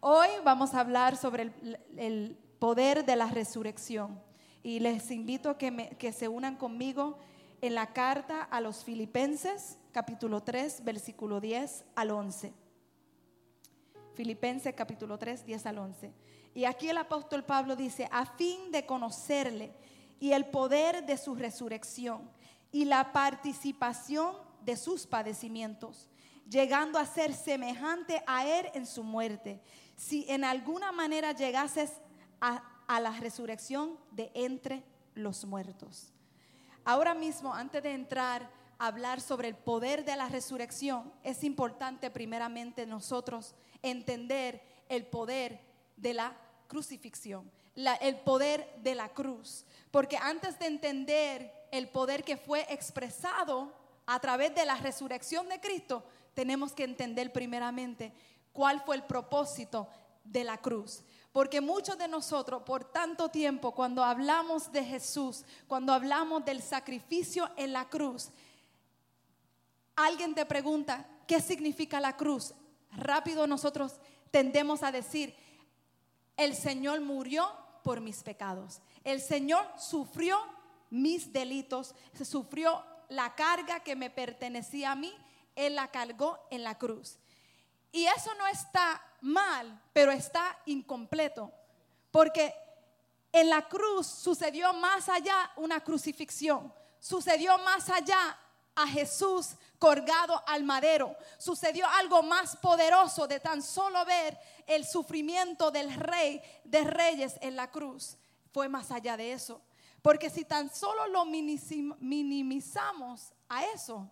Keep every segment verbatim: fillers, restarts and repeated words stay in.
Hoy vamos a hablar sobre el, el poder de la resurrección y les invito a que, me, que se unan conmigo en la carta a los Filipenses, capítulo tres, versículo diez al once. Filipenses capítulo tres, diez al once. Y aquí el apóstol Pablo dice: a fin de conocerle y el poder de su resurrección y la participación de sus padecimientos, llegando a ser semejante a él en su muerte, si en alguna manera llegases a, a la resurrección de entre los muertos. Ahora mismo, antes de entrar a hablar sobre el poder de la resurrección, es importante primeramente nosotros entender el poder de la crucifixión, la, el poder de la cruz. Porque antes de entender el poder que fue expresado a través de la resurrección de Cristo, tenemos que entender primeramente cuál fue el propósito de la cruz. Porque muchos de nosotros por tanto tiempo, cuando hablamos de Jesús, cuando hablamos del sacrificio en la cruz, alguien te pregunta ¿qué significa la cruz? Rápido nosotros tendemos a decir: el Señor murió por mis pecados, el Señor sufrió mis delitos, se sufrió la carga que me pertenecía a mí, Él la cargó en la cruz. Y eso no está mal, pero está incompleto, porque en la cruz sucedió más allá una crucifixión, sucedió más allá a Jesús colgado al madero, sucedió algo más poderoso de tan solo ver el sufrimiento del Rey de Reyes en la cruz. Fue más allá de eso, porque si tan solo lo minimizamos a eso,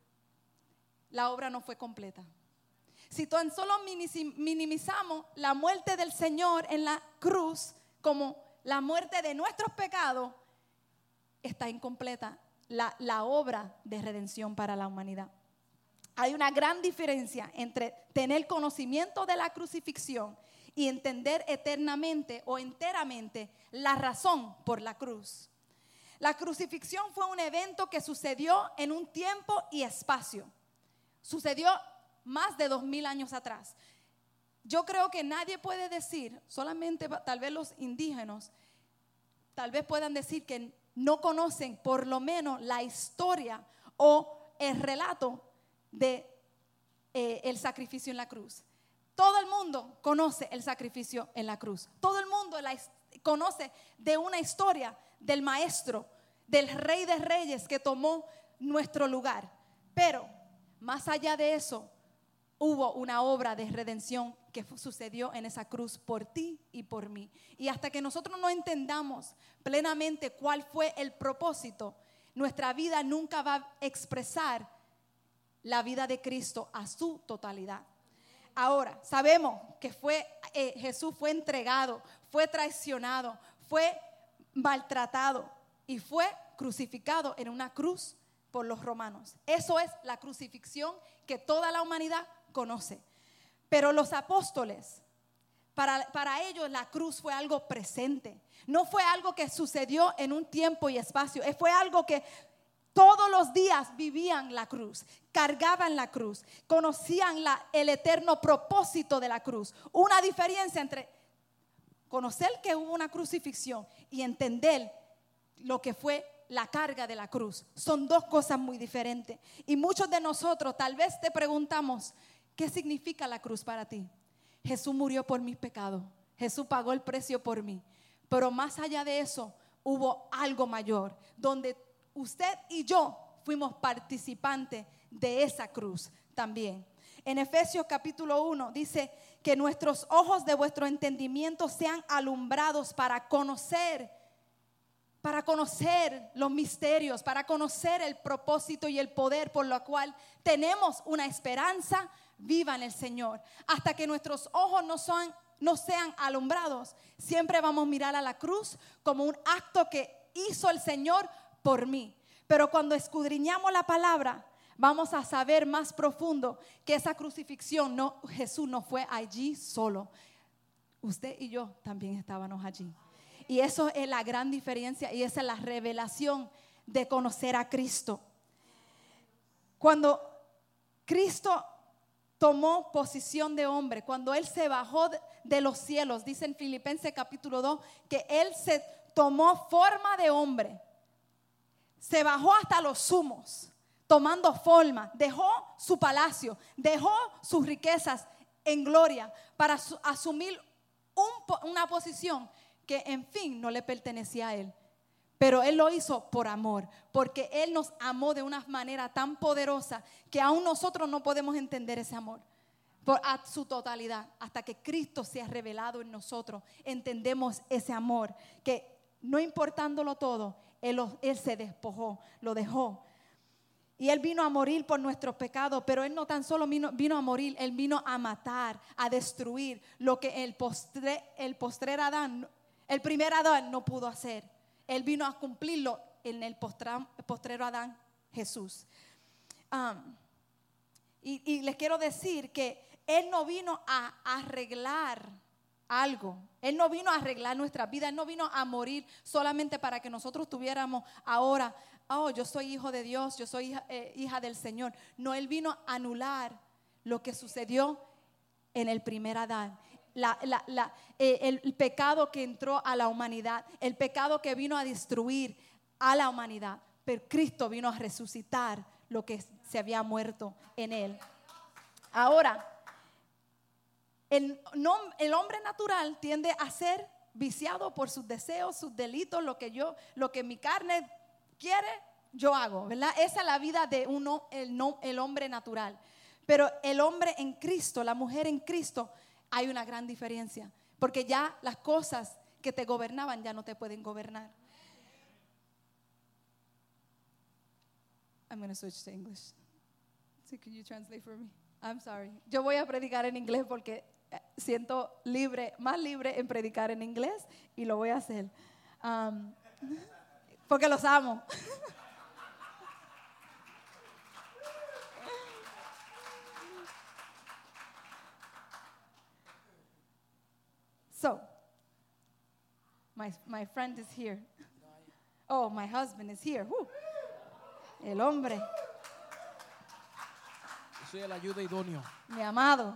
la obra no fue completa. Si tan solo minimizamos la muerte del Señor en la cruz como la muerte de nuestros pecados, está incompleta la, la obra de redención para la humanidad. Hay una gran diferencia entre tener conocimiento de la crucifixión y entender eternamente o enteramente la razón por la cruz. La crucifixión fue un evento que sucedió en un tiempo y espacio. Sucedió más de dos mil años atrás. Yo creo que nadie puede decir, solamente tal vez los indígenas, tal vez puedan decir que no conocen por lo menos la historia o el relato de eh, el sacrificio en la cruz. Todo el mundo conoce el sacrificio en la cruz. Todo el mundo la, conoce de una historia del maestro, del Rey de Reyes que tomó nuestro lugar. Pero más allá de eso, hubo una obra de redención que sucedió en esa cruz por ti y por mí. Y hasta que nosotros no entendamos plenamente cuál fue el propósito, nuestra vida nunca va a expresar la vida de Cristo a su totalidad. Ahora, sabemos que fue, eh, Jesús fue entregado, fue traicionado, fue maltratado y fue crucificado en una cruz por los romanos. Eso es la crucifixión que toda la humanidad conoce. Pero los apóstoles, para, para ellos la cruz fue algo presente. No fue algo que sucedió en un tiempo y espacio. Fue algo que todos los días vivían la cruz, cargaban la cruz, conocían la, el eterno propósito de la cruz. Una diferencia entre conocer que hubo una crucifixión y entender lo que fue la carga de la cruz. Son dos cosas muy diferentes. Y muchos de nosotros tal vez te preguntamos: ¿qué significa la cruz para ti? Jesús murió por mis pecados. Jesús pagó el precio por mí. Pero más allá de eso, hubo algo mayor, donde usted y yo fuimos participantes de esa cruz también. En Efesios capítulo uno dice que nuestros ojos de vuestro entendimiento sean alumbrados para conocer para conocer los misterios, para conocer el propósito y el poder por lo cual tenemos una esperanza viva en el Señor. Hasta que nuestros ojos no son, no sean alumbrados, siempre vamos a mirar a la cruz como un acto que hizo el Señor por mí. Pero cuando escudriñamos la palabra, vamos a saber más profundo que esa crucifixión, no, Jesús no fue allí solo. Usted y yo también estábamos allí. Y eso es la gran diferencia y esa es la revelación de conocer a Cristo. Cuando Cristo tomó posición de hombre, cuando Él se bajó de, de los cielos, dice en Filipenses capítulo dos, que Él se tomó forma de hombre, se bajó hasta los sumos, tomando forma, dejó su palacio, dejó sus riquezas en gloria para su, asumir un, una posición que en fin no le pertenecía a Él. Pero Él lo hizo por amor, porque Él nos amó de una manera tan poderosa que aún nosotros no podemos entender ese amor por, a su totalidad. Hasta que Cristo se ha revelado en nosotros, entendemos ese amor, que no importándolo todo, Él, lo, él se despojó, lo dejó. Y Él vino a morir por nuestros pecados, pero Él no tan solo vino, vino a morir, Él vino a matar, a destruir lo que el, postre, el postrer Adán, el primer Adán no pudo hacer. Él vino a cumplirlo en el postra, postrero Adán, Jesús. Um, y, y les quiero decir que Él no vino a arreglar algo. Él no vino a arreglar nuestra vida. Él no vino a morir solamente para que nosotros tuviéramos ahora, oh, yo soy hijo de Dios, yo soy hija, eh, hija del Señor. No, Él vino a anular lo que sucedió en el primer Adán. La, la, la, eh, el, el pecado que entró a la humanidad, el pecado que vino a destruir a la humanidad, pero Cristo vino a resucitar lo que se había muerto en Él. Ahora, el, no, el hombre natural tiende a ser viciado por sus deseos, sus delitos, lo que yo, lo que mi carne quiere, yo hago, ¿verdad? Esa es la vida de uno, el, no, el hombre natural. Pero el hombre en Cristo, la mujer en Cristo, hay una gran diferencia, porque ya las cosas que te gobernaban ya no te pueden gobernar. I'm going to switch to English. So can you translate for me? I'm sorry. Yo voy a predicar en inglés porque siento libre, más libre en predicar en inglés y lo voy a hacer. Um, porque los amo. So, my, my friend is here. Oh, my husband is here. Woo. El hombre. Soy el ayuda idóneo. Mi amado.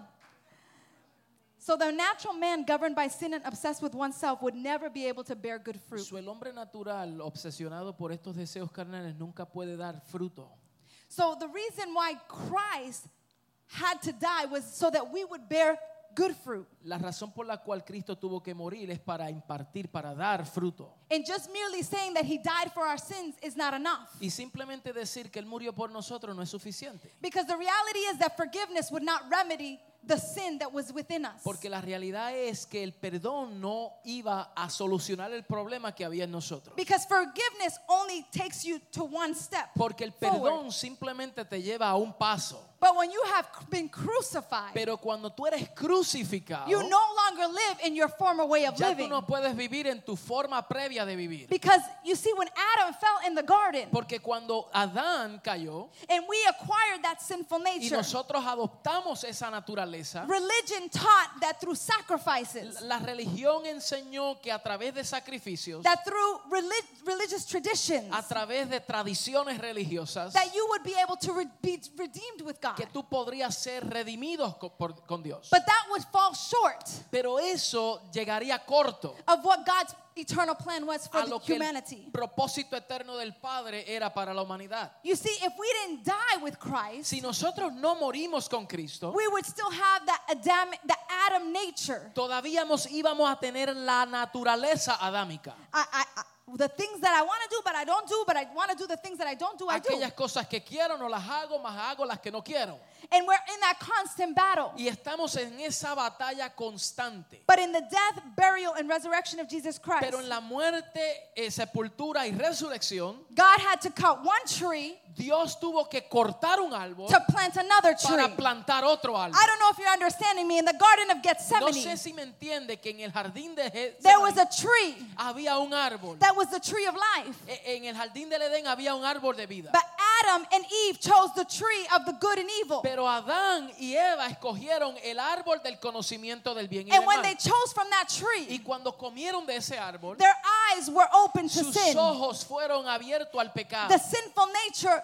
So the natural man governed by sin and obsessed with oneself would never be able to bear good fruit. So, el hombre natural obsesionado por estos deseos carnales nunca puede dar fruto. So the reason why Christ had to die was so that we would bear good fruit. La razón por la cual Cristo tuvo que morir es para impartir, para dar fruto. And just merely saying that he died for our sins is not enough. Y simplemente decir que Él murió por nosotros no es suficiente. Because the reality is that forgiveness would not remedy the sin that was within us. Porque la realidad es que el perdón no iba a solucionar el problema que había en nosotros. Because forgiveness only takes you to one step. Porque el perdón simplemente te lleva a un paso. But when you have been crucified, Pero cuando tú eres crucificado, you no longer live in your former way of ya living. tú no puedes vivir en tu forma previa de vivir. Because you see, when Adam fell in the garden, Porque cuando Adán cayó and we acquired that sinful y nature, nosotros adoptamos esa naturaleza, religion taught that through sacrifices, la religión enseñó que a través de sacrificios, that through relig- religious traditions, a través de tradiciones religiosas, that you would be able to re- be redeemed with God. que tú podrías ser redimido con, por- con Dios. But that would fall short Pero eso llegaría corto of what God's eternal plan was for a the lo que humanity. el propósito eterno del Padre era para la humanidad. You see, if we didn't die with Christ, Si nosotros no morimos con Cristo, we would still have that Adam, the Adam nature. todavía nos íbamos a tener la naturaleza adámica. I, I, I, the things that I want to do, but I don't do, but I want to do the things that I don't do, I do. Aquellas cosas que quiero no las hago, más hago las que no quiero. And we're in that constant battle. Y estamos en esa batalla constante. But in the death, burial, and resurrection of Jesus Christ, Pero en la muerte, eh, sepultura y resurrección, God had to cut one tree Dios tuvo que cortar un árbol to plant another tree. para plantar otro árbol. I don't know if you're understanding me. In the Garden of No Gethsemane, sé si me entiende que en el jardín de there was Getsemaní a tree había un árbol. that was the tree of life. E- En el jardín del Edén había un árbol de vida. But Adam and Eve chose the tree of the good and evil. Pero Adán y Eva escogieron el árbol del conocimiento del bien y del And when mal. they chose from that Y tree, cuando comieron de ese árbol, their eyes were open to sus sin. ojos fueron abiertos al pecado. The sinful nature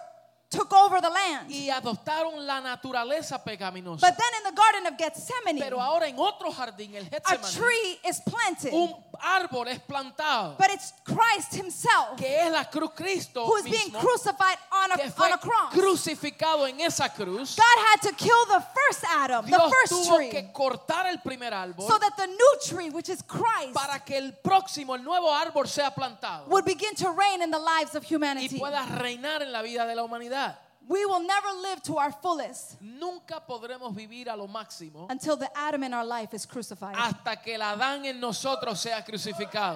took over the land. y adoptaron la naturaleza pecaminosa. But then in the Garden of Gethsemane, Pero ahora en otro jardín, el a Getsemaní, tree is planted. un árbol es plantado, But it's Christ himself que es la cruz Cristo who is being mismo, crucified on que a, fue on a cross. crucificado en esa cruz. God had to kill the first Adam, the Dios first tuvo tree, que cortar el primer árbol so that the new tree, which is Christ, para que el próximo, el nuevo árbol sea plantado would begin to reign in the lives of y humanity. pueda reinar en la vida de la humanidad. We will never live to our fullest Nunca podremos vivir a lo máximo until the Adam in our life is crucified. hasta que el Adán en nosotros sea crucificado.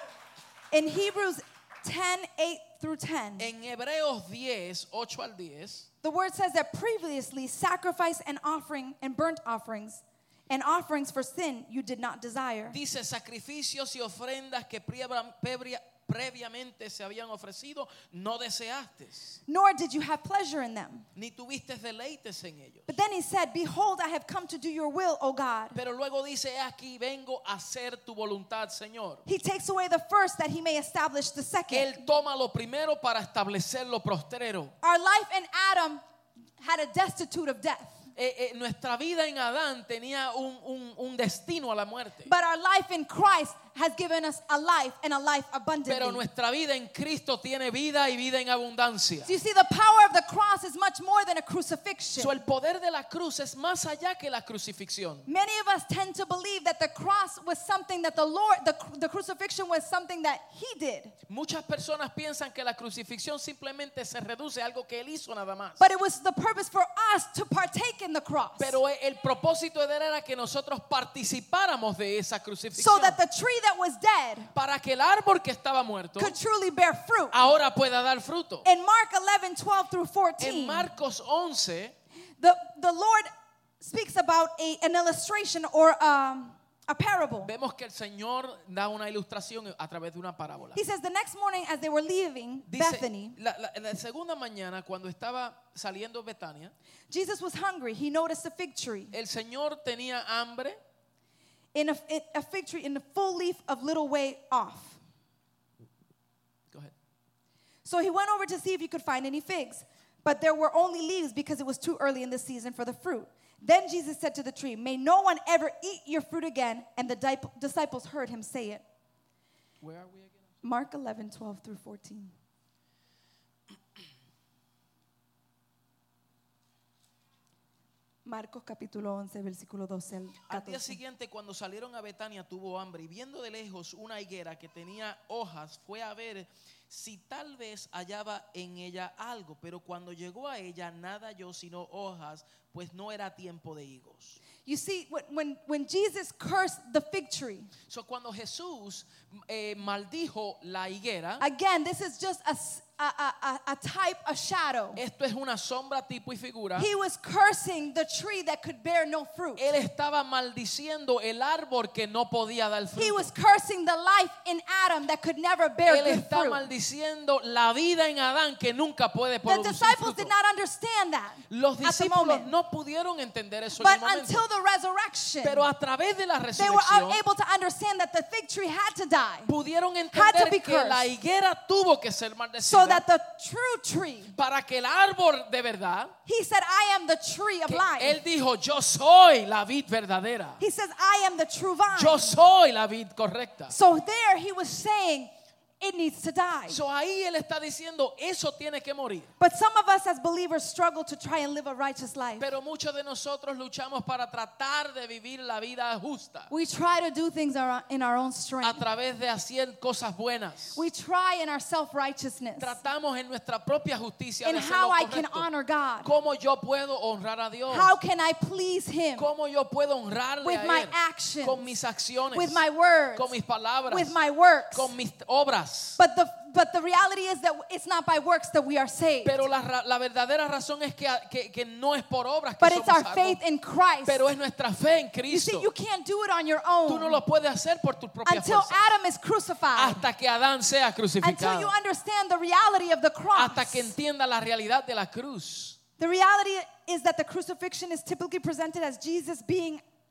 In Hebrews ten, eight through ten, En Hebreos diez, ocho al diez, the word says that previously sacrifice and offering and burnt offerings and offerings for sin you did not desire. dice: sacrificios y ofrendas que previa- previa- previamente se habían ofrecido, no deseaste, Nor did you have pleasure in them. ni tuviste deleites en ellos. But then he said, behold, I have come to do your will, O God. Pero luego dice: "He aquí vengo a hacer tu voluntad, Señor." He takes away the first that he may establish the second. Él toma lo primero para establecer lo postrero. Our life in Adam had a destitute of death. Eh, eh, nuestra vida en Adán tenía un, un, un destino a la muerte. But our life in Christ has given us a life and a life abundantly. Pero nuestra vida en Cristo tiene vida y vida en abundancia. So you see, the power of the cross is much more than a crucifixion. So, el poder de la cruz es más allá que la crucifixión. Many of us tend to believe that the cross was something that the Lord, the, the crucifixion was something that he did. Muchas personas piensan que la crucifixión simplemente se reduce a algo que él hizo nada más. But it was the purpose for us to partake in the cross. Pero el propósito de él era que nosotros participáramos de esa So crucifixión. that the tree that was dead Para que el árbol que estaba muerto could truly bear fruit. ahora pueda dar fruto. In Mark eleven, twelve through En fourteen, Marcos once, the, the Lord speaks about a, an illustration or um, a parable. vemos que el Señor da una ilustración a través de una parábola. He says the next morning as they were leaving Dice, Bethany, la, la- la segunda mañana cuando estaba saliendo Betania, Jesus was hungry. He noticed a fig tree. el Señor tenía hambre In a, in a fig tree in the full leaf of little way off. Go ahead. So he went over to see if he could find any figs. But there were only leaves because it was too early in the season for the fruit. Then Jesus said to the tree, may no one ever eat your fruit again. And the di- disciples heard him say it. Where are we again? Mark eleven, twelve through fourteen. Marcos capítulo once, versículo doce al Al día catorce. siguiente, cuando salieron a Betania, tuvo hambre y viendo de lejos una higuera que tenía hojas, fue a ver si tal vez hallaba en ella algo. Pero cuando llegó a ella, nada halló sino hojas, pues no era tiempo de higos. You see, when, when, when Jesus cursed the fig tree, So, cuando Jesús eh, maldijo la higuera, again, this is just a, s- a, a- a- a type, a shadow. esto es una sombra, tipo y figura. He was cursing the tree that could bear no fruit. Él estaba maldiciendo el árbol que no podía dar He fruto. was cursing the life in Adam that could never bear Él good está fruit. maldiciendo la vida en Adán que nunca puede The producir disciples fruto. did not understand that Los at the discípulos moment. no pudieron entender eso en But el momento. until the resurrection, Pero a través de la they were resurrección able to understand that the fig tree had to die pudieron had to entender be que la cursed. higuera tuvo que ser so maldecida that the true tree, para que el árbol de verdad, he said, I am the tree of que life. él dijo, yo soy la vid verdadera. He says, I am the true vine. Yo soy la vid correcta. So there he was saying, it needs to die. So ahí él está diciendo, eso tiene que morir. But some of us as believers struggle to try and live a righteous life. Pero muchos de nosotros luchamos para tratar de vivir la vida justa We try to do things our- in our own a strength. través de hacer cosas buenas. We try in our self-righteousness Tratamos en nuestra propia justicia and de hacer how lo I can correcto. honor God. ¿Cómo yo puedo honrar a Dios? How can I please Him ¿Cómo yo puedo honrarle with a my Él? actions, Con mis acciones, with my words, con mis palabras, with my works? con mis obras. But the but the reality is that it's not by works that we are saved, Pero la, ra- la verdadera razón es que, que, que no es por obras que but it's somos our salvos, faith in Christ. pero es nuestra fe en You see, Cristo. you can't do it on your Tú no own lo puedes hacer por tus propias until fuerzas. Adam is crucified, Hasta que Adán sea until crucificado. you understand the reality of the cross. Hasta que entienda la realidad de la cruz. The reality is that the crucifixion is typically presented as Jesus being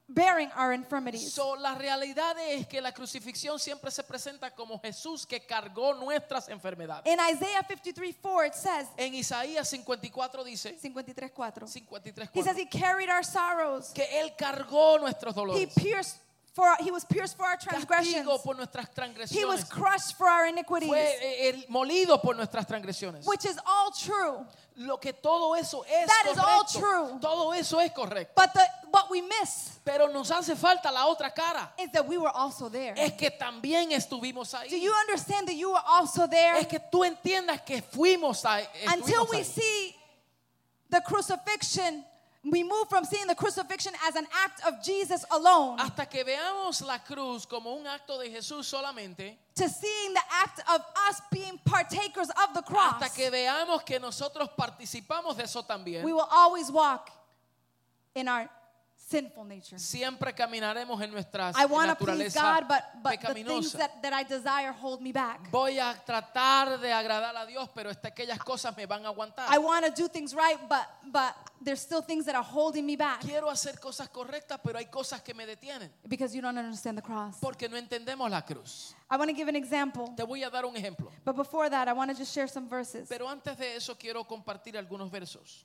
bearing our infirmities. So, la realidad es que la crucifixión siempre se presenta como Jesús que cargó nuestras enfermedades. In Isaiah fifty-three four it says, En Isaías cincuenta y cuatro dice, fifty-three four, cincuenta y tres, he says cuatro, he carried our sorrows. que Él cargó nuestros He dolores, pierced for he was pierced for our transgressions. castigo por nuestras He was transgresiones, crushed for our iniquities. fue eh, eh, molido por nuestras transgresiones. Which is all true. Lo que todo eso es That is all correcto. true. Todo eso es correcto. But the what we miss Pero nos hace falta la otra cara. is that we were also there. Es que también estuvimos Do ahí. you understand that you were also there? Es que tú entiendas que fuimos ahí. Until estuvimos we ahí. see the crucifixion, we move from seeing the crucifixion as an act of Jesus alone Hasta que veamos la cruz como un acto de Jesús solamente. to seeing the act of us being partakers of the cross. Hasta que veamos que nosotros participamos de eso también. We will always walk in our sinful nature. Siempre caminaremos en nuestra I want to please naturaleza God, but, but the things pecaminosa. that, that I desire hold me back. Voy a tratar de agradar a Dios, pero hasta aquellas cosas me van a aguantar. I want to do things right, but, but there's still things that are holding me back Quiero hacer cosas correctas, pero hay cosas que me detienen. because you don't understand the cross. Porque no entendemos la cruz. I want to give an example, Te voy a dar un ejemplo. but before that, I want to just share some verses. Pero antes de eso quiero compartir algunos versos.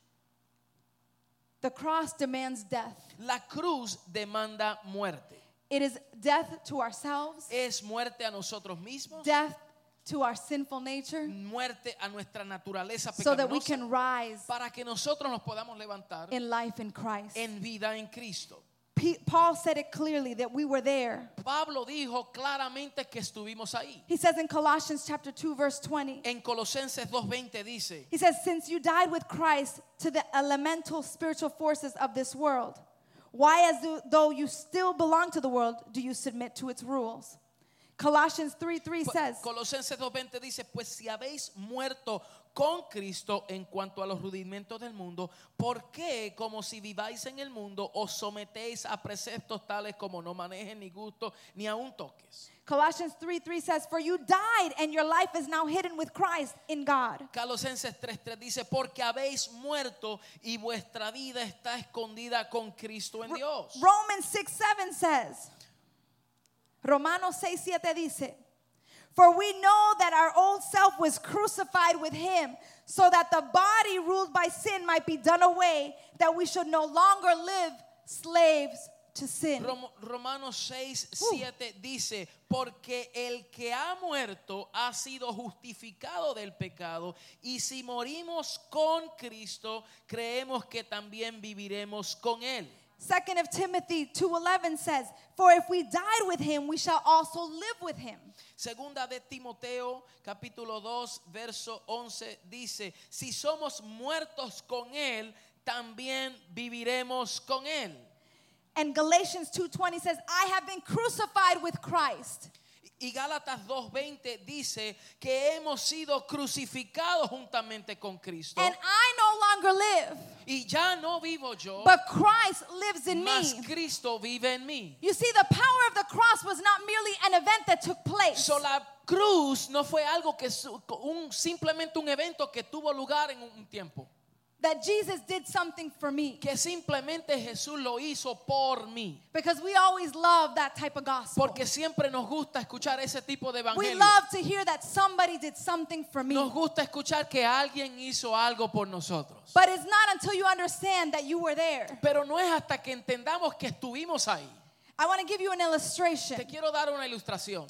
The cross demands death. La cruz demanda muerte. It is death to ourselves, Es muerte a nosotros mismos, death to our sinful nature, muerte a nuestra naturaleza so that we pecaminosa, can rise para que nosotros nos podamos levantar in life in Christ. en vida en Cristo. P- Paul said it clearly that we were there. Pablo dijo claramente que estuvimos ahí. He says in Colossians chapter two verse twenty, En Colosenses dos veinte dice, he says, since you died with Christ to the elemental spiritual forces of this world, why as though- though you still belong to the world, do you submit to its rules? Colossians three three says, Colosenses dos veinte dice, pues si habéis muerto con Cristo en cuanto a los rudimentos del mundo, ¿por qué, como si viváis en el mundo, os sometéis a preceptos tales como no manejen ni gusto ni aun toques? Colossians three three says, for you died and your life is now hidden with Christ in God. Colosenses tres tres dice, porque habéis muerto y vuestra vida está escondida con Cristo en Dios. Romans six seven says, Romanos seis siete dice, for we know that our old self was crucified with him, so that the body ruled by sin might be done away, that we should no longer live slaves to sin. Rom- Romanos seis siete dice, porque el que ha muerto ha sido justificado del pecado, y si morimos con Cristo, creemos que también viviremos con él. Second of Timothy two eleven says, for if we died with him, we shall also live with him. Segunda de Timoteo, capítulo dos, verso once dice, si somos muertos con él, también viviremos con él. And Galatians two twenty says, I have been crucified with Christ. Y Gálatas dos veinte dice que hemos sido crucificados juntamente con Cristo. And I no longer live, Y ya no vivo yo, but Christ lives in mas me. Cristo vive en mí. You see, the power of the cross was not merely an event that took place. So, la cruz no fue algo que su- un, simplemente un evento que tuvo lugar en un tiempo. That Jesus did something for me. Que simplemente Jesús lo hizo por mí. Because we always love that type of gospel. Porque siempre nos gusta escuchar ese tipo de We evangelio. love to hear that somebody did something for me. Nos gusta escuchar que alguien hizo algo por nosotros. But it's not until you understand that you were there. Pero no es hasta que entendamos que estuvimos ahí. I want to give you an illustration Te quiero dar una ilustración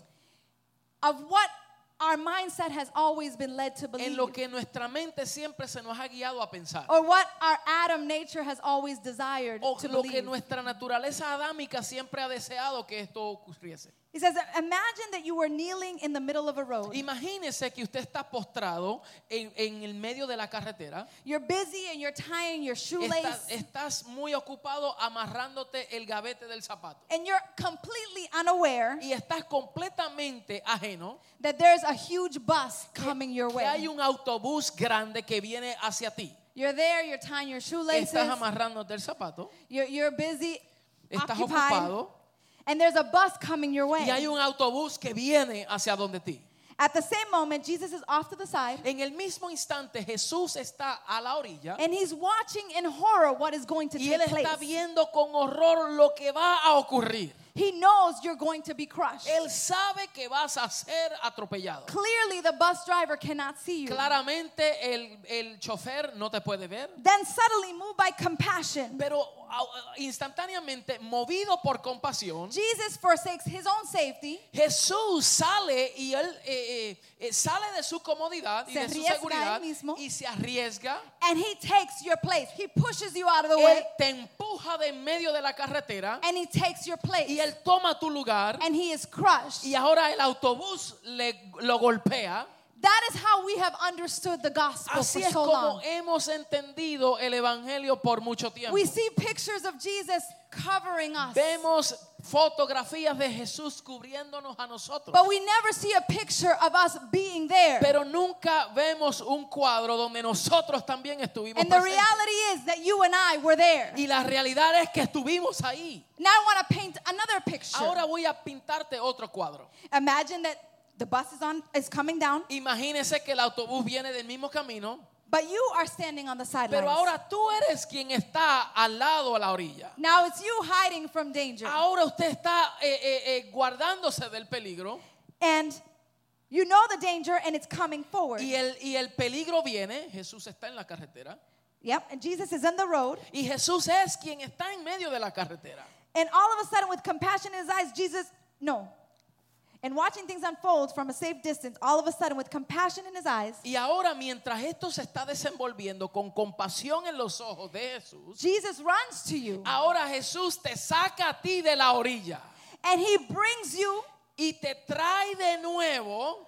of what our mindset has always been led to en believe. lo que nuestra mente siempre se nos ha guiado a pensar. Or what our Adam nature has always desired O to lo que believe. nuestra naturaleza adámica siempre ha deseado que esto ocurriese. He says, imagine that you were kneeling in the middle of a road. Imagínese que usted está postrado en, en el medio de la carretera. You're busy and you're tying your Estás, shoelace. estás muy ocupado amarrándote el gavete del zapato. And you're completely unaware Y estás completamente ajeno that there's a huge bus coming your que hay way. un autobús grande que viene hacia ti. You're there, you're tying your shoelaces. Estás amarrándote el zapato. You're, you're busy, Estás occupied. ocupado. And there's a bus coming your way. Y hay un autobús que viene hacia donde ti. At the same moment, Jesus is off to the side. En el mismo instante Jesús está a la orilla And he's watching in horror what is going to y él take place. está viendo con horror lo que va a ocurrir. He knows you're going to be crushed. Él sabe que vas a ser atropellado. Clearly, the bus driver cannot see you. Claramente el, el chofer no te puede ver. Then suddenly, moved by compassion, Pero uh, instantáneamente, movido por compasión, Jesus forsakes his own safety, Jesús sale y él eh, eh, sale de su comodidad y Se de su arriesga seguridad él mismo. y se arriesga. and he takes your place. He pushes you out of the Él way, te empuja de en medio de la carretera and he takes your place. y él toma tu lugar And he is crushed. y ahora el autobús le, lo golpea. That is how we have understood the gospel Así for es so como long. hemos entendido el evangelio por mucho tiempo. We see pictures of Jesus covering us, Vemos fotografías de Jesús cubriéndonos a nosotros. but we never see a picture of us being there. Pero nunca vemos un cuadro donde nosotros también estuvimos And the presentes. reality is that you and I were there. Y la realidad es que estuvimos ahí. Now I want to paint another picture. Ahora voy a pintarte otro cuadro. Imagine that the bus is on is coming down, Imagínese que el autobús viene del mismo camino, but you are standing on the pero sidelines. ahora tú eres quien está al lado a la orilla. Now it's you hiding from danger. Ahora usted está eh, eh, eh, guardándose del peligro And you know the danger and it's coming forward. y el, y el peligro viene. Jesús está en la carretera Yep, and Jesus is on the road. y Jesús es quien está en medio de la carretera. And all of a sudden, with compassion in his eyes, Jesus, no. And watching things unfold from a safe distance, all of a sudden, with compassion in his eyes, Y ahora mientras esto se está desenvolviendo con compasión en los ojos de Jesús, Jesus runs to you. ahora Jesús te saca a ti de la orilla And he brings you y te trae de nuevo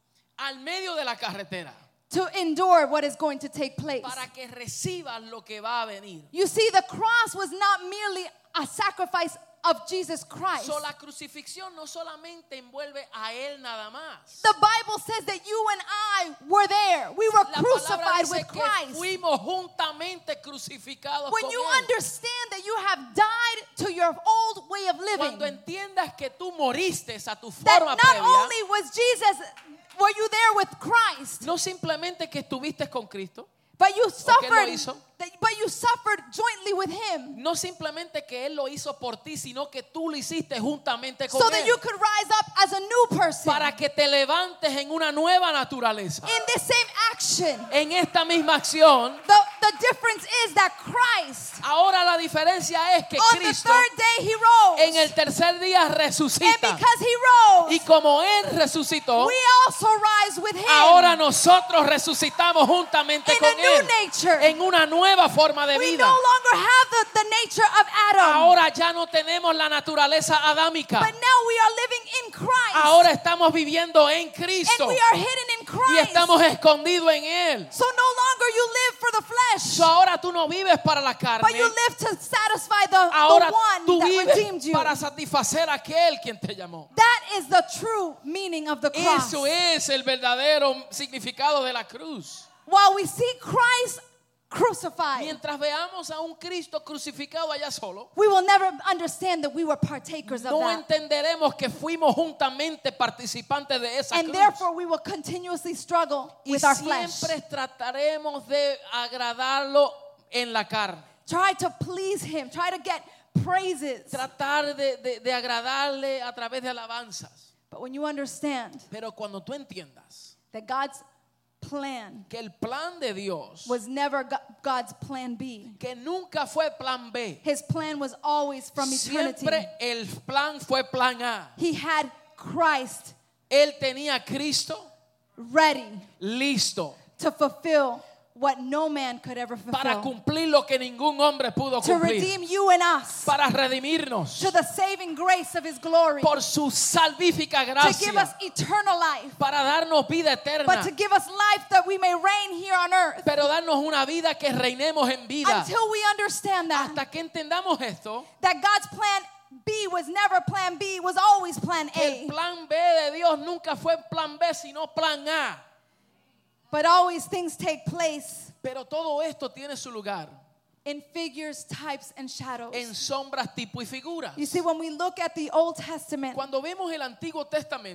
al medio de la carretera to endure what is going to take place. para que recibas lo que va a venir. You see, the cross was not merely a sacrifice of Jesus Christ. So, la crucifixión no solamente envuelve a él nada más. The Bible says that you and I were there. We were La palabra crucified dice with que Christ. fuimos juntamente crucificados When con you él. understand that you have died to your old way of living, Cuando entiendas que tú moriste a tu that forma not previa, only was Jesus, were you there with Christ, no simplemente que estuviste con Cristo, but you que él lo suffered, hizo. that, but you suffered jointly with Him, no simplemente que él lo hizo por ti, sino que tú lo hiciste juntamente con so él, that you could rise up as a new person para que te levantes en una nueva naturaleza. in this same action. En esta misma acción, The, the difference is that Christ, ahora la diferencia es que on the Cristo third day, He rose. en el tercer día And resucita. because He rose, Y como él resucitó, we also rise with Him ahora nosotros resucitamos juntamente in con a new él nature. en una nueva forma de We vida. no longer have the, the nature of Adam, Ahora ya no tenemos la naturaleza adámica. but now we are living in Christ. Ahora estamos viviendo en Cristo And we are hidden in y Christ. estamos escondidos en él. So no longer you live for the flesh, So, ahora tú no vives para la carne. but you live to satisfy the, Ahora the one tú that redeemed vives you. para satisfacer a aquel quien te llamó. That is the true meaning of the cross. Eso es el verdadero significado de la cruz. While we see Christ crucified, Mientras veamos a un Cristo crucificado allá solo, we will never understand that we were partakers of no that. entenderemos que fuimos juntamente participantes de esa And cruz. therefore we will continuously struggle Y with our flesh. siempre trataremos de agradarlo en la carne. Try to please Him. Try to get praises. Tratar de, de- de agradarle a través de alabanzas. But when you understand Pero cuando tú entiendas that God's plan que el plan de Dios, was never Go- God's plan B. que nunca fue plan B, His plan was always from eternity. siempre el plan fue plan A. He had Christ Él tenía a Cristo ready listo to fulfill what no man could ever para fulfill. cumplir lo que ningún hombre pudo To cumplir, redeem you and us para redimirnos to the saving grace of His glory. por su salvífica To give us gracia, eternal life. para darnos vida But eterna, to give us life that we may reign here on earth. pero darnos una vida que reinemos en vida. Until we understand that. Hasta que entendamos esto, That God's plan B was never plan B, was always plan que el A. plan B de Dios nunca fue plan B, sino plan A. But always things take place Pero todo esto tiene su lugar in figures, types, and shadows. en sombras, tipo y figuras. You see, when we look at the Old Testament, Cuando vemos el Antiguo Testamento,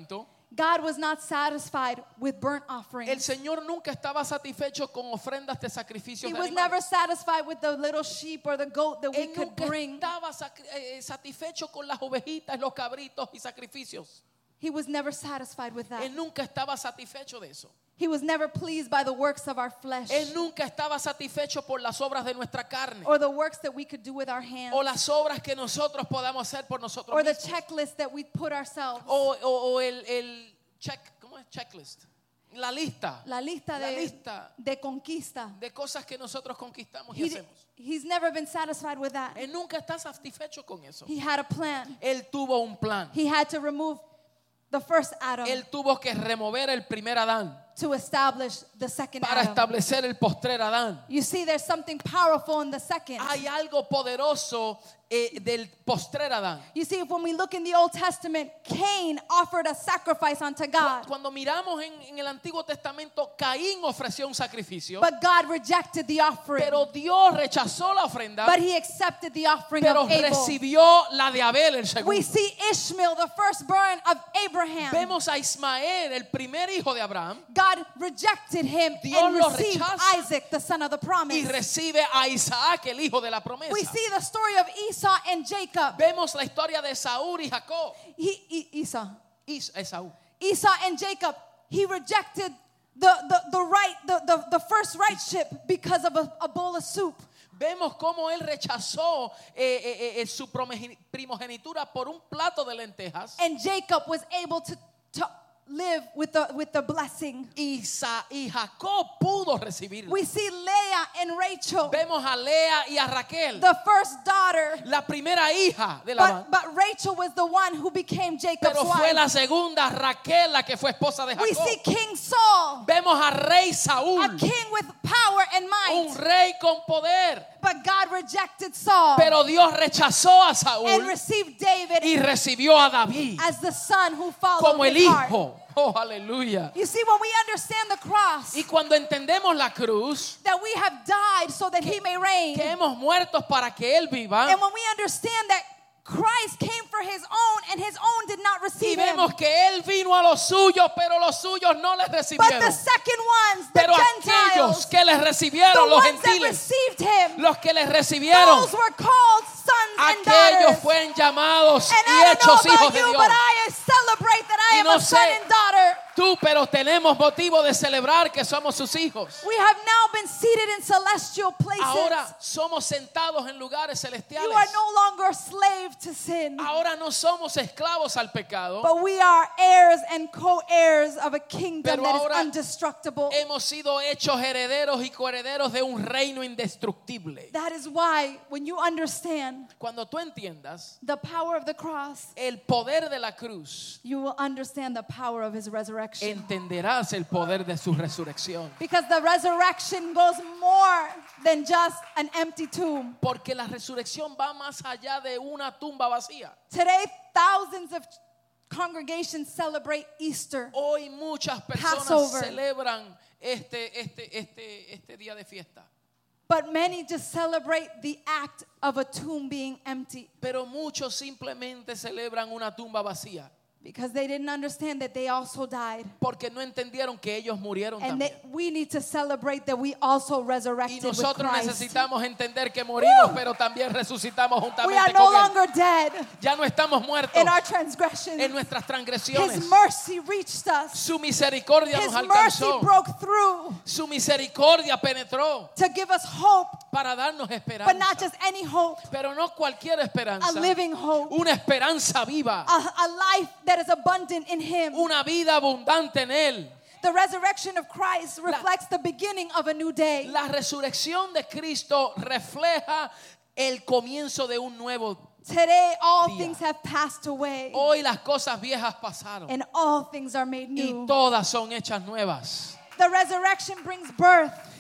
God was not satisfied with burnt El offerings. Señor nunca estaba satisfecho con ofrendas de sacrificios He de was animales. never satisfied with the little sheep or the goat that we Él could nunca bring. estaba sacri- eh, satisfecho con las ovejitas, los cabritos y sacrificios. He was never satisfied with that. Él nunca estaba satisfecho de eso. He was never pleased by the works of our flesh Él nunca estaba satisfecho por las obras de nuestra carne or the works that we could do with our hands o las obras que nosotros podamos hacer por nosotros or the mismos. checklist that we put ourselves. O, o- o el, el check, ¿cómo es? Checklist. La lista. La lista La de, lista de conquista. de cosas que nosotros conquistamos y He, hacemos. he's never been satisfied with that. Él nunca está satisfecho con eso. He had a plan. Él tuvo un plan. He had to remove the first Adam Él tuvo que remover el primer Adán to establish the second para Adam. establecer el postrer Adán. You see, there's something powerful in the second. Hay algo poderoso eh, del postrer Adán. You see, when we look in the Old Testament, Cain offered a sacrifice unto God, Cuando miramos en, en el Antiguo Testamento, Caín ofreció un sacrificio, but God rejected the offering. pero Dios rechazó la ofrenda, But he accepted the offering pero of Abel. recibió la de Abel, el segundo. We see Ishmael, the firstborn of Abraham. Vemos a Ismael, el primer hijo de Abraham, God rejected him Dios and lo received rechaza. Isaac, the son of the promise. y recibe a Isaac, el hijo de la promesa. We see the story of Esau and Jacob. Vemos la historia de Saúl y Jacob. He, E- Esau. Is- Esaú. Esau and Jacob, he rejected the, the, the right, the, the, the first rightship because of a, a bowl of soup. Vemos cómo él rechazó eh, eh, eh, su promegi- primogenitura por un plato de lentejas. And Jacob was able to, to live with the, with the blessing. Y, Sa- y Jacob pudo recibirlo. We see Leah and Rachel, Vemos a Lea y a Raquel, the first daughter, la primera hija de Labán. but, but Rachel was the one who became Jacob's Pero fue wife. la segunda, Raquel, la que fue esposa de We Jacob. see King Saul, Vemos a rey a Saúl, king with power and un might, rey con poder. but God rejected Saul Pero Dios rechazó a and Saúl received David y recibió a David as the son who followed como el his heart. hijo. Oh, aleluya. You see, when we understand the cross, Y cuando entendemos la cruz, that we have died so that he may reign, que hemos muerto para que Él viva, and when we understand that Christ came for his own and his own did not y receive him, vemos que Él vino a los suyos, pero los suyos no les but the recibieron. second ones, the Pero aquellos Gentiles, que les the recibieron, los ones that gentiles, received him, los que les recibieron, those were called sons and aquellos daughters. fueron llamados And y I don't know hechos hijos about de you, Dios. but I celebrate that I Y am no a son sé and daughter. Tú, pero tenemos motivo de celebrar que somos sus hijos. We have now been seated in celestial places. Ahora somos sentados en lugares You celestiales. are no longer a slave to sin, Ahora no somos esclavos al pecado. but we are heirs and co-heirs of a kingdom Pero that is ahora indestructible. Hemos sido hechos herederos y coherederos de un reino indestructible. That is why when you understand Cuando tú entiendas the power of the cross, el poder de la cruz, you will understand the power of his resurrection. entenderás el poder de su resurrección. Because the resurrection goes more than just an empty tomb. Porque la resurrección va más allá de una tumba vacía. Today, thousands of congregations celebrate Easter. Hoy muchas personas Passover. celebran este, este, este, este día de fiesta. But many just celebrate the act of a tomb being empty Pero muchos simplemente celebran una tumba vacía. because they didn't understand that they also died. Porque no entendieron que ellos murieron And también. that we need to celebrate that we also Y resurrected with nosotros Christ. necesitamos entender que morimos, Woo! pero también resucitamos We juntamente are no con Él. longer dead Ya no estamos muertos in our transgressions. en nuestras transgresiones. His mercy reached us. Su misericordia His nos mercy alcanzó. broke through Su misericordia penetró to give us hope, para darnos but esperanza. not just any hope, Pero no cualquier a esperanza. living hope, Una esperanza viva. a, a life that is abundant in Him. Una vida abundante en Él. The resurrection of Christ reflects the beginning of a new day. La resurrección de Cristo refleja el comienzo de un nuevo. Today, all día. things have passed away, Hoy las cosas viejas pasaron and all things are made y new. todas son hechas nuevas. The resurrection brings birth.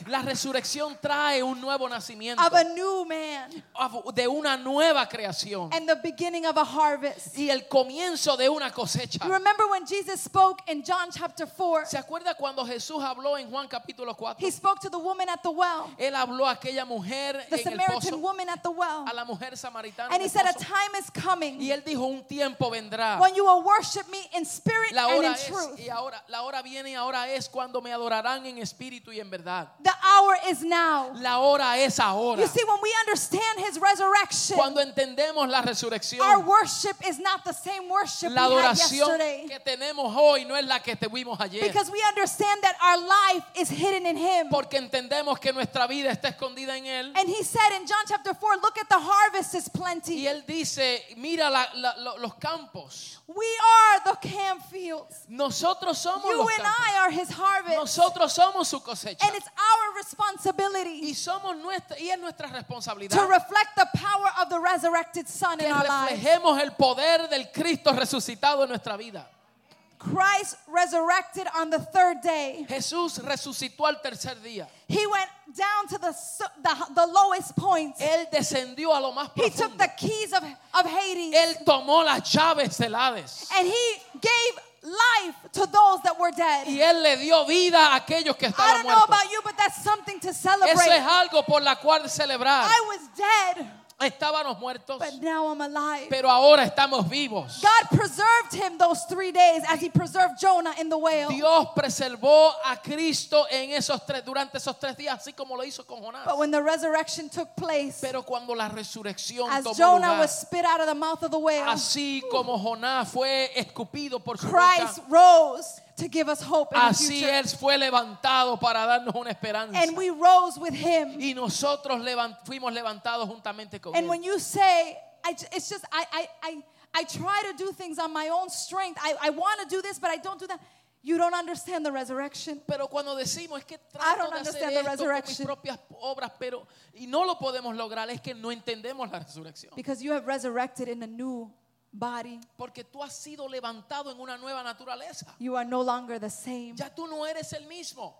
La resurrección trae un nuevo nacimiento of a new man de una nueva creación and the beginning of a harvest. y el comienzo de una cosecha. You remember when Jesus spoke in John chapter four? ¿Se acuerda cuando Jesús habló en Juan capítulo cuatro? He spoke to the woman at the well, Él habló a aquella mujer the en el Samaritan pozo, woman at the well. a la mujer samaritana And en he el said, a pozo. time is coming Y él dijo, un tiempo vendrá. when you will worship me in spirit La and hora in es, truth. y ahora, la hora viene y ahora es cuando me adorarán en espíritu y en verdad. The hour is now. La hora es ahora. You see, when we understand his resurrection, Cuando entendemos la our resurrección, worship is not the same worship la we had adoración yesterday. que tenemos hoy no es la que tuvimos ayer. Because we understand that our life is hidden in him. Porque entendemos que nuestra vida está escondida en Él. And he said in John chapter four, look at the harvest is Y plenty. Él dice, mira la- la- lo- los campos. We are the camp fields. Nosotros somos You los and campos. I are his harvest. Nosotros somos su cosecha. And it's our Y responsibility somos nuestra y es nuestra to responsabilidad reflect the power of the resurrected Son que in our lives. reflejemos el poder del Cristo resucitado en nuestra vida. Christ resurrected on the third day. Jesús resucitó al tercer día. He went down to the, su- the, the lowest point. Él descendió a lo más He took profundo. the keys of, of Hades. Él tomó las llaves del Hades. And he gave life to those that were dead. Y Él le dio vida a aquellos que I estaban don't know muertos. about you, but that's something to Eso celebrate. es algo por la cual celebrar. I was dead, Estábamos muertos, but now I'm alive. pero ahora estamos vivos. God preserved him those three days as he preserved Jonah in the whale. Dios preservó a Cristo en esos tres, durante esos tres días, así como lo hizo con Jonás. But when the resurrection took place, Pero cuando la resurrección as tomó Jonah lugar, was spit out of the mouth of the whale, así como Jonás fue escupido por su Christ boca, rose to give us hope in the así future. Él fue levantado para darnos una esperanza. And we rose with him. Y nosotros levan- fuimos levantados juntamente con And Él. when you say, I, j- it's just, I, I, I, I try to do things on my own strength. I, I want to do this, but I don't do that. You don't understand the resurrection. Pero cuando decimos es que I trato don't de hacer understand the esto con mis resurrection. propias obras, pero y no lo podemos lograr, es que no entendemos la resurrección. Because you have resurrected in a new body. Porque tú has sido levantado en una nueva naturaleza. You are no longer the same. Ya tú no eres el mismo.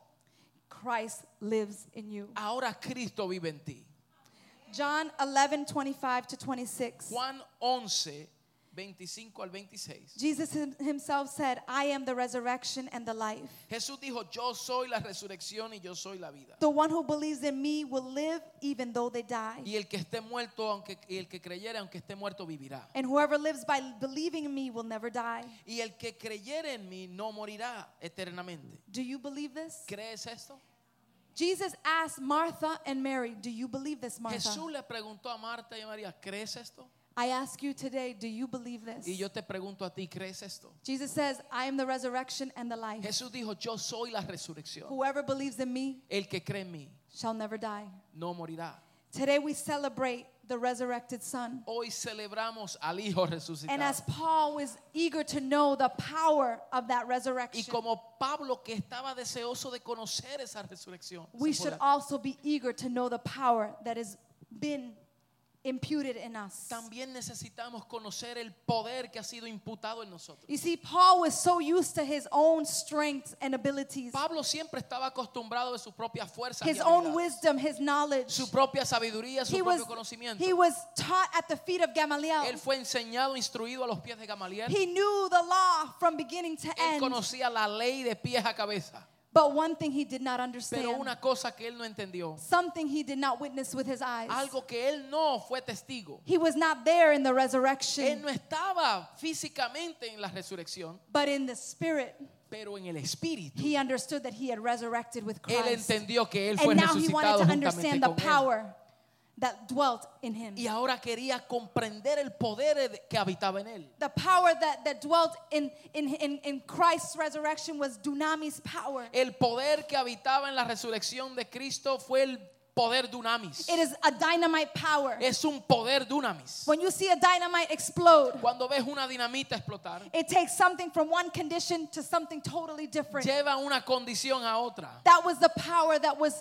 Christ lives in you. Ahora Cristo vive en ti. John eleven, twenty-five to twenty-six. Juan once, veinticinco al veintiséis. Jesus him- himself said, I am the resurrection and the life. Jesús dijo, yo soy la resurrección y yo soy la vida. The one who believes in me will live even though they die. Y el que esté muerto, aunque y el que creyere, aunque esté muerto, vivirá. And whoever lives by believing in me will never die. Y el que creyere en mí no morirá eternamente. Do you believe this? ¿Crees esto? Jesus asked Martha and Mary, do you believe this, Martha? Jesús le preguntó a Marta y a María, ¿crees esto? I ask you today, do you believe this? Y yo te pregunto a ti, ¿crees esto? Jesus says, I am the resurrection and the life. Jesús dijo, yo soy la resurrección. Whoever believes in me El que cree en mí shall never die. no morirá. Today we celebrate the resurrected Son. Hoy celebramos al Hijo And resucitado. as Paul was eager to know the power of that Y resurrection, como Pablo que estaba deseoso de conocer esa resurrección, we ese should poder, also be eager to know the power that has been imputed in us. también necesitamos conocer el poder que ha sido imputado en nosotros. You see, Paul was so used to his own strengths and abilities, Pablo siempre estaba acostumbrado de su propia fuerza, his own wisdom, his knowledge. su propia sabiduría, su He propio was, conocimiento. he was taught at the feet of Gamaliel. Él fue enseñado, instruido a los pies de Gamaliel. He knew the law from beginning to Él end. conocía la ley de pies a cabeza. But one thing he did not Pero understand, una cosa que él no entendió, something he did not witness with his eyes. algo que él no fue testigo. He was not there in the Él resurrection, no estaba físicamente en la resurrección, but in the spirit. pero en el espíritu. He understood that he had resurrected with Él Christ. entendió que él fue And now he wanted resucitado to juntamente understand the con él. power that dwelt in him. Y ahora quería comprender el poder de- que habitaba en él. The power that, that dwelt in, in, in, in Christ's resurrection was dunamis power. El poder que habitaba en la resurrección de Cristo fue el poder dunamis. It is a dynamite power. Es un poder dunamis. When you see a dynamite explode, Cuando ves una dinamita explotar, it takes something from one condition to something totally different. lleva una condición a otra. That was the power that was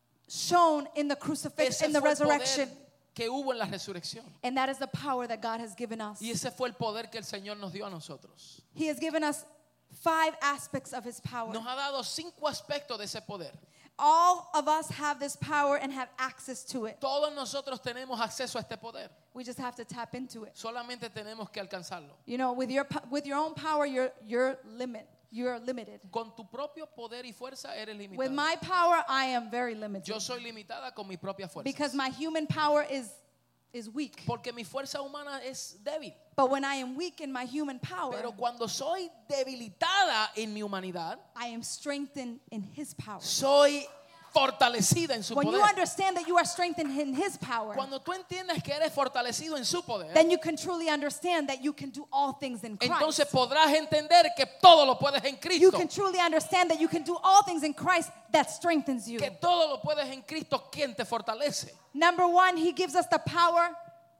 shown in the crucifixion, Ese in the fue el poder resurrection. que hubo en la resurrección. And that is the power that God has given us. Y ese fue el poder que el Señor nos dio a nosotros. He has given us five aspects of his power. Nos ha dado cinco aspectos de ese poder. all of us have this power and have access to it. Todos nosotros tenemos acceso a este poder. We just have to tap into it. Solamente tenemos que alcanzarlo. You know, with your po- with your own power, you're you're limit. You're limited. Con tu propio poder y fuerza eres With limitada. my power, I am very limited. Yo soy limitada con mi propia fuerza. Because my human power is is weak. Porque mi fuerza humana es débil. But when I am weak in my human power, Pero cuando soy debilitada en mi humanidad, I am strengthened in his power. soy fortalecida en su When you poder. understand that you are strengthened in his power, Cuando tú entiendes que eres fortalecido en su poder, then you can truly understand that you can do all things in Christ. entonces podrás entender que todo lo puedes en You Cristo. can truly understand that you can do all things in Christ that strengthens you. Que todo lo puedes en Cristo, quien te fortalece. Number one, he gives us the power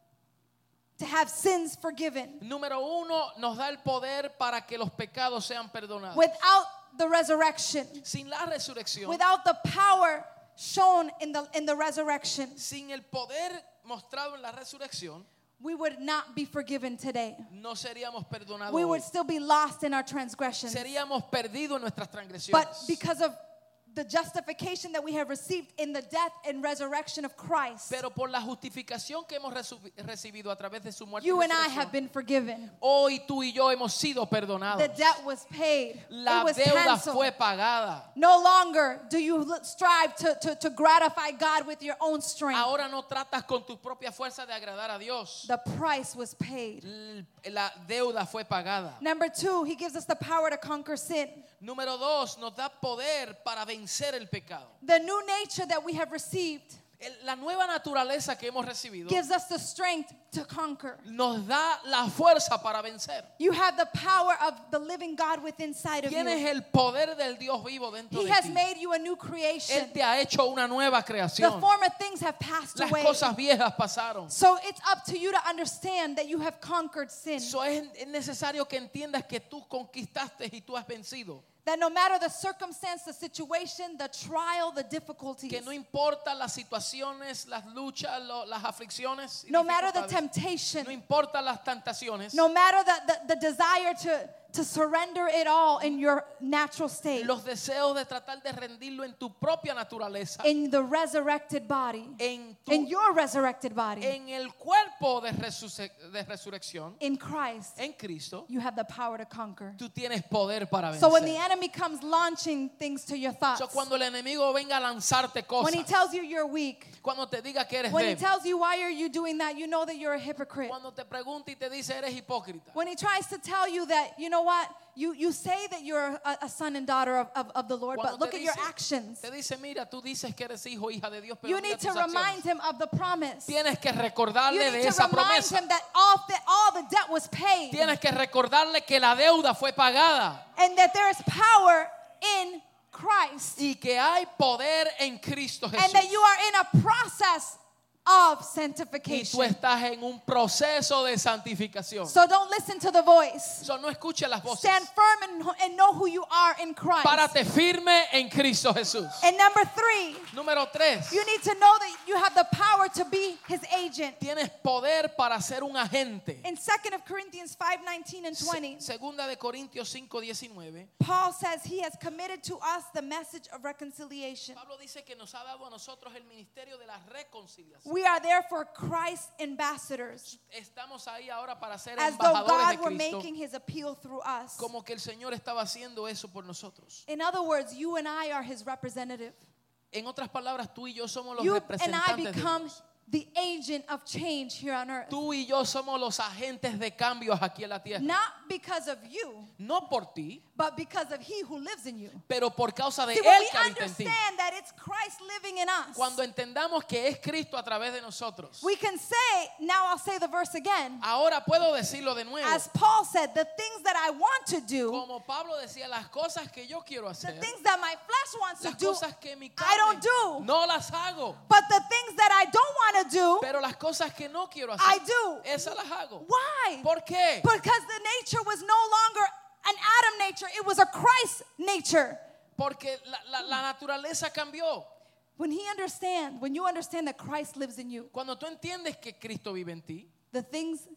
to have sins forgiven. Número uno, nos da el poder para que los pecados sean perdonados. Without the resurrection, Sin la resurrección, without the power shown in the in the resurrection, sin el poder mostrado en la resurrección, we would not be forgiven today. no seríamos perdonados. We hoy. would still be lost in our transgressions. Seríamos perdidos en nuestras But transgresiones. because of the justification that we have received in the death and resurrection of Christ, Pero por la justificación que hemos resu- recibido a través de su muerte y you and I resurrección, have been forgiven. hoy tú y yo hemos sido perdonados. The debt was paid. La It was deuda canceled. fue pagada. No longer do you l- strive to, to, to gratify God with your own strength. Ahora no tratas con tu propia fuerza de agradar a Dios. The price was paid. L- La deuda fue pagada. Number two, he gives us the power to conquer sin. Número dos, nos da poder para vencer el pecado. The new nature that we have received El- La nueva naturaleza que hemos recibido gives us the strength to conquer. nos da la fuerza para vencer. You have the power of the living God within inside of Tienes you. el poder del Dios vivo dentro He de has ti. made you a new creation. Él te ha hecho una nueva The creación. former things have passed Las away. cosas viejas pasaron. So it's up to you to understand that you have conquered sin. So es, es necesario que entiendas que tú conquistaste y tú has vencido. That no matter the circumstance, the situation, the trial, the difficulties, Que no importa las situaciones, las luchas, lo- las aflicciones, y no matter the dificultades, temptation, no importa las tentaciones, no matter the, the, the desire to, to surrender it all in your natural state, los deseos de tratar de rendirlo en tu propia naturaleza, in the resurrected body, en, tu- in your resurrected body, en el cuerpo de, resuce- de resurrección, in Christ, en Cristo, you have the power to conquer. tú tienes poder para So when the vencer. enemy comes launching things to your thoughts, So, cuando el enemigo venga a lanzarte when he cosas, tells you you're weak, cuando te diga que eres when he débil, tells you why are you doing that, you know that you're a hypocrite. cuando te pregunta y te dice eres hipócrita, When he tries to tell you that, you know what, you, you say that you're a, a son and daughter of, of, of the Lord, Cuando but look te at your dice- actions. te dice mira, tú dices que eres hijo, hija de Dios, pero You mira need to tus acciones. remind him of the promise. You Tienes que recordarle de need to esa remind promesa. him that all the, all the debt was paid Tienes que recordarle que la deuda fue pagada and that there is power in Christ y que hay poder en Cristo and Jesús. that you are in a process of Y tú sanctification. estás en un proceso de santificación. So don't listen to the voice. So, no escuches las voces. Stand firm and, and know who you are in Christ. Párate firme en Cristo Jesús. And number three, Número tres. you need to know that you have the power to be his agent. Tienes poder para ser un agente. In Second Corinthians five nineteen and twenty, Se- Segunda de Corintios cinco diecinueve. Paul says he has committed to us the message of reconciliation. Pablo dice que nos ha dado a nosotros el ministerio de la reconciliación. We are therefore Christ's ambassadors, Estamos ahí ahora para ser as though embajadores God de were Cristo, making his appeal through us. como que el Señor estaba haciendo eso por nosotros. In other words, you and I are his representative. En otras palabras, tú y yo somos los You and I representantes de become Dios. the agent of change here on earth. Tú y yo somos los agentes de cambios aquí en la tierra. Not because of you, No por ti, but because of he who lives in you. pero por causa de See, when Él we que habita en ti. understand that it's Christ living in us, Cuando entendamos que es Cristo a través de nosotros. we can say, now I'll say the verse again. Ahora puedo decirlo de nuevo. As Paul said, the things that I want to do, Como Pablo decía, las cosas que yo quiero the hacer, things that my flesh wants to las do, cosas que mi I don't carne do. no las hago. But the things that I don't want to do, Pero las cosas que no quiero I hacer, do. esas las hago. Why? ¿Por qué? Because the nature was no longer an Adam nature, it was a Christ nature. Porque la, la- la naturaleza cambió. When he understands, when you understand that Christ lives in you, Cuando tú entiendes que Cristo vive en ti, the things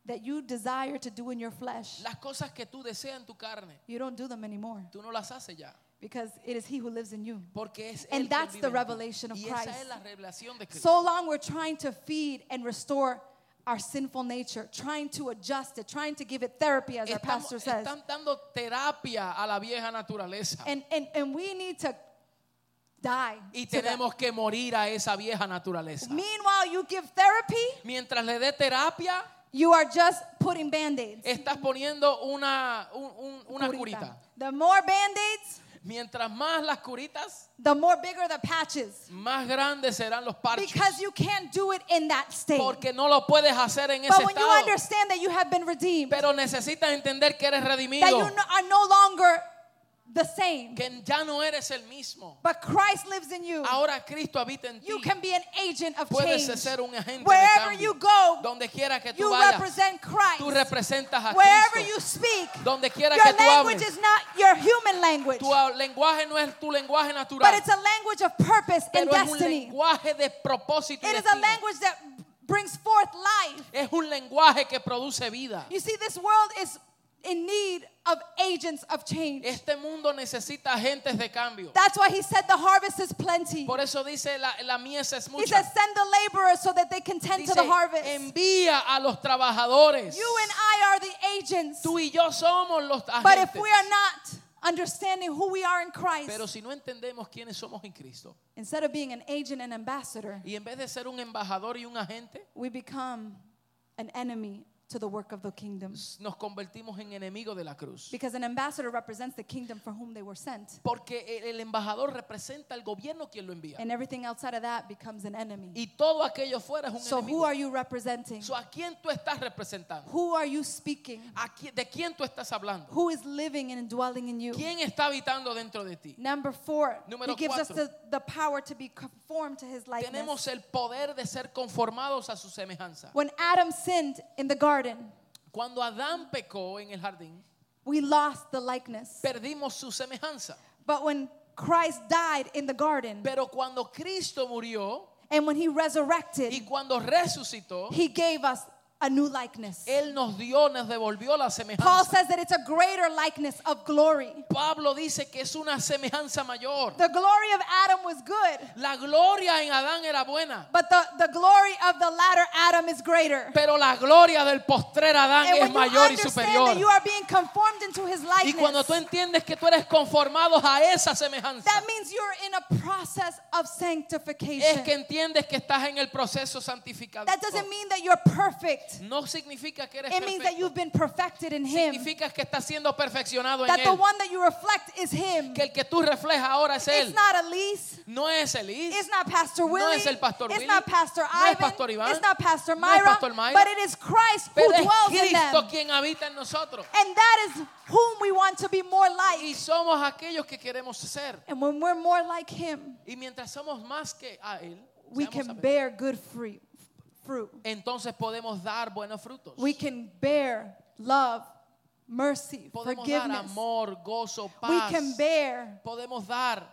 that you desire to do in your flesh, Las cosas que tú deseas en tu carne, you don't do them anymore tú no las haces ya. because it is He who lives in you. Porque es And Él quien that's vive the en ti. revelation of Y esa Christ. es la revelación de Cristo. So long we're trying to feed and restore our sinful nature, trying to adjust it, trying to give it therapy, as our Estamos, pastor says. están dando terapia a la vieja naturaleza. And, and, and we need to die. Y to that. tenemos que morir a esa vieja naturaleza. Meanwhile, you give therapy, Mientras le dé terapia, you are just putting band-aids. estás poniendo una, un- un- una curita. The more band-aids, Mientras más las curitas, the more bigger the patches. más grandes serán los parches. Because you can't do it in that state. Porque no lo puedes hacer en ese But when you estado. understand that you have been redeemed, Pero necesitas entender que eres that redimido. you no- are no longer the same, Que ya no eres el mismo. but Christ lives in you, Ahora Cristo habita en ti. you can be an agent of Puedes change. ser un agente de Wherever cambio. you go, Donde quiera que tú you vayas, represent Christ. tú representas a Wherever Cristo. you speak, Donde quiera your que tú language hables, is not your human language, tu ah, lenguaje no es tu lenguaje but natural, it's a language of purpose and pero es un destiny. lenguaje de propósito y It is a destino. language that brings forth life. Es un lenguaje que produce vida. You see, this world is in need of agents of change. Este mundo necesita agentes de cambio. That's why he said the harvest is plenty. Por eso dice la, la mies es He mucha. says send the laborers so that they can tend to Dice, the harvest. envía a los trabajadores. You and I are the agents. Tú y yo somos los But if agentes. we are not understanding who we are in Christ, Pero si no entendemos quiénes somos en Cristo, instead of being an agent and ambassador, y en vez de ser un embajador y un agente, we become an enemy to the work of the kingdom. nos convertimos en enemigos de la cruz. Because an ambassador represents the kingdom for whom they were sent. Porque el, el embajador representa al gobierno quien lo envía. And everything outside of that becomes an enemy. Y todo aquello fuera es un So who enemigo. are you representing? So, ¿a quién tú estás representando? Who are you speaking? ¿A quién- ¿De quién tú estás hablando? Who is living and dwelling in you? ¿Quién está habitando dentro de ti? Number four, Número he gives us cuatro. the, the power to be conformed to his likeness. Tenemos el poder de ser conformados a su semejanza. When Adam sinned in the garden, Cuando Adán pecó en el jardín, we lost the likeness. perdimos su semejanza. But when Christ died in the garden, Pero cuando Cristo murió and when he y resurrected, cuando resucitó, he gave us a new likeness. Él nos dio, nos devolvió la Paul semejanza. says that it's a greater likeness of glory. Pablo dice que es una semejanza mayor. The glory of Adam was good, La gloria en Adán era buena, but the, the glory of the latter Adam is greater. pero la gloria del postrer Adán And es when you mayor y understand superior. that you are being conformed into his Y cuando likeness, tú entiendes que tú eres conformado a esa semejanza, that means you're in a process of es sanctification. que entiendes que estás en el proceso santificado. That doesn't mean that you're perfect. No significa que eres It means that perfecto. you've been perfected in him. Significa que estás siendo perfeccionado en That the él. one that you reflect is him. Que el que tú reflejas ahora es It's él. not Elise. No es Elise. It's not Pastor No Willie. es el Pastor It's Willie. not Pastor No es Ivan. Pastor Iván. It's not Pastor No es Myra. Pastor Myra. But it is Christ who Pero es dwells in Cristo them. quien habita en nosotros. And that is whom we want to be more like. Y somos aquellos que queremos ser. And when we're more like him, Y mientras somos más que a él, we seamos a can ver, bear good fruit. fruit. entonces podemos dar buenos frutos. We can bear love, mercy, Podemos dar forgiveness. amor, gozo, We paz. can bear Podemos dar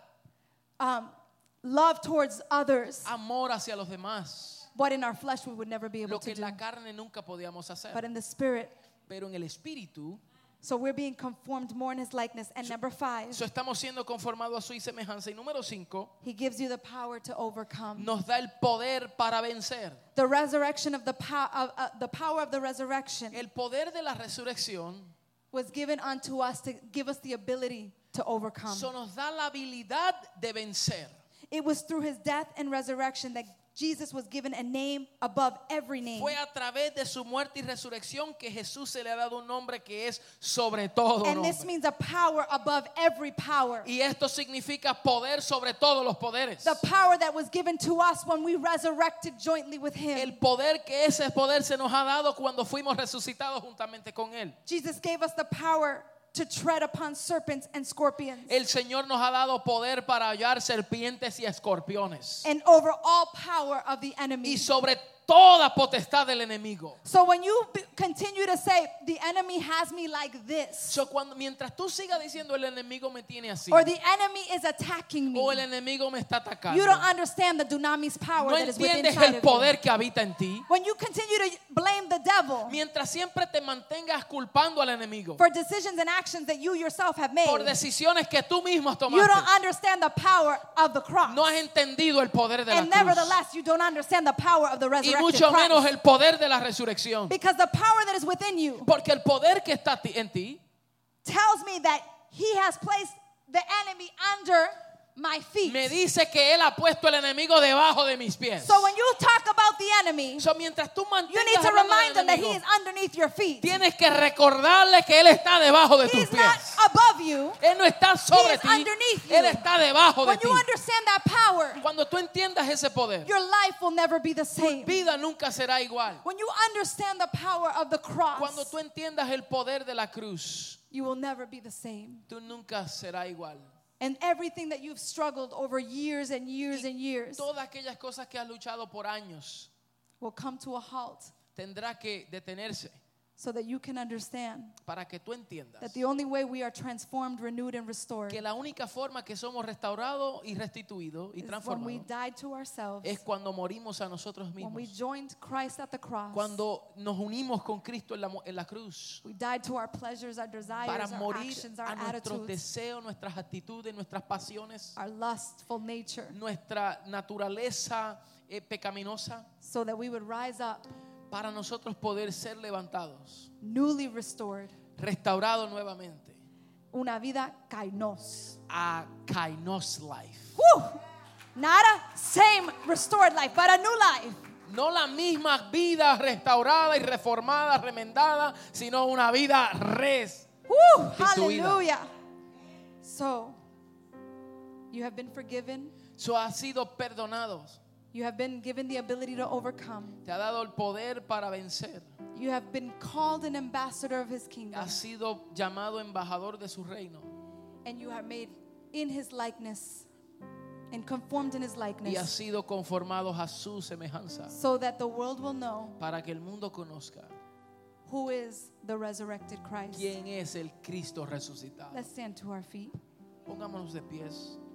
um, love towards others. amor hacia los demás. What in our flesh we would never be able Lo to que en do. la carne nunca podíamos hacer. But in the spirit. Pero en el espíritu, So we're being conformed more in his likeness. And number five, so estamos siendo conformados a su semejanza. Y número cinco, he gives you the power to overcome. nos da el poder para vencer. The resurrection of the power, uh, uh, the power of the resurrection El poder de la resurrección was given unto us to give us the ability to overcome. so nos da la habilidad de vencer. It was through his death and resurrection that Jesus was given a name above every name. Fue a través de su muerte y resurrección que Jesús se le ha dado un nombre que es sobre todo And this nombre. means a power above every power. Y esto significa poder sobre todos los poderes. The power that was given to us when we resurrected jointly with El him. poder que ese poder se nos ha dado cuando fuimos resucitados juntamente con Él. Jesus gave us the power to tread upon serpents and scorpions. El Señor nos ha dado poder para hallar serpientes y escorpiones. And over all power of the Y enemy. sobre toda potestad del enemigo. So when you be, continue to say, the enemy has me like this, So, cuando, mientras tú sigas diciendo el enemigo me tiene así, or the enemy is attacking me, o el enemigo me está atacando, you don't understand the dunamis power no that is within entiendes inside el of you. poder que habita en ti. When you continue to blame the devil Mientras siempre te mantengas culpando al enemigo for decisions and actions that you yourself have made, por decisiones que tú mismo you tomaste, don't understand the power of the cross. no has entendido el poder de la And cruz, nevertheless, you don't understand the power of the y resurrected mucho Christ. menos el poder de la resurrección. Because the power that is within you Porque el poder que está ti- en ti tells me that he has placed the enemy under my feet. me dice que él ha puesto el enemigo debajo de mis pies. So when you talk about the enemy, So, mientras tú you need mantengas to hablando remind del him that he enemigo, is underneath your feet. tienes que recordarle que él está debajo de tus He's not pies. above you. Él no está sobre He is ti, underneath you. él está debajo de When ti. you understand that power, Cuando tú entiendas ese poder, your life will never be the tu same. vida nunca será igual. When you understand the power of the Cuando cross, tú entiendas el poder de la cruz, you will never be the same. tú nunca serás igual. And everything that you've struggled over years and years and years Todas aquellas cosas que has luchado por años will come to a halt tendrá que detenerse so that you can understand para que tú entiendas that the only way we are transformed, renewed, and restored que la única forma que somos restaurados y restituidos y is when we transformados died to ourselves, es cuando morimos a nosotros when we mismos, joined Christ at the cross, cuando nos unimos con Cristo en la, mo- en la cruz, we died to our pleasures, our para desires, our morir actions, a our nuestros attitudes, deseos, nuestras actitudes, nuestras pasiones, our lustful nature, nuestra naturaleza eh, pecaminosa, so that we would rise up para nosotros poder ser levantados, newly restored, restaurados nuevamente una vida kainos. a kainos life. Woo! Not a same restored life, but a new life. No la misma vida restaurada y reformada, remendada, sino una vida res. Woo! Restituida. Hallelujah. So, you have been forgiven. So ha sido perdonados. You have been given the ability to overcome. Te ha dado el poder para vencer. You have been called an ambassador of his kingdom. Has sido llamado embajador de su reino. And you are made in his likeness and conformed in his Y has likeness, sido conformados a su semejanza. so that the world will know Para que el mundo conozca who is the resurrected Christ. quién es el Cristo resucitado. Let's stand to our feet. Pongámonos de pies.